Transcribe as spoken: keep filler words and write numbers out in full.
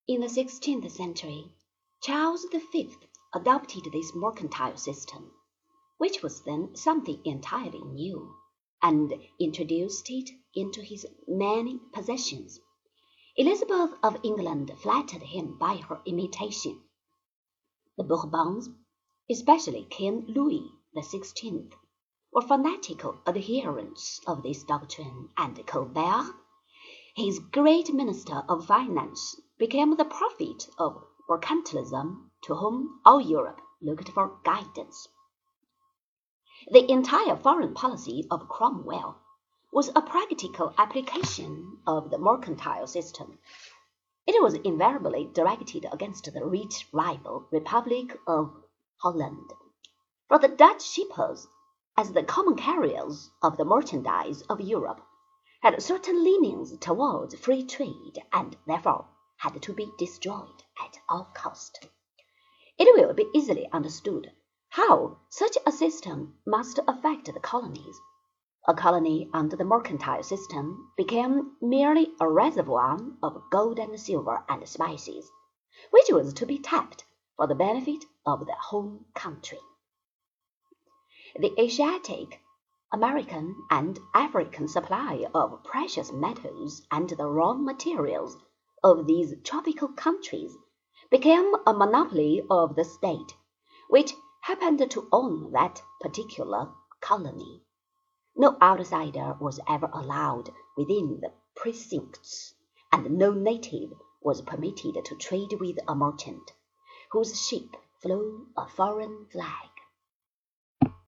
In the sixteenth century, Charles the Fifth adopted this mercantile system, which was then something entirely new, and introduced it into his many possessions. Elizabeth of England flattered him by her imitation. The Bourbons, especially King Louis the Sixteenth, were fanatical adherents of this doctrine, and Colbert, his great minister of finance, became the prophet of mercantilism to whom all Europe looked for guidance. The entire foreign policy of Cromwell was a practical application of the mercantile system. It was invariably directed against the rich rival Republic of Holland. For the Dutch shippers, as the common carriers of the merchandise of Europe, had certain leanings towards free trade, and therefore had to be destroyed at all cost. It will be easily understood how such a system must affect the colonies. A colony under the mercantile system became merely a reservoir of gold and silver and spices, which was to be tapped for the benefit of the home country. The Asiatic, American, and African supply of precious metals and the raw materials of these tropical countries became a monopoly of the state, which happened to own that particular colony. No outsider was ever allowed within the precincts, and no native was permitted to trade with a merchant whose ship flew a foreign flag.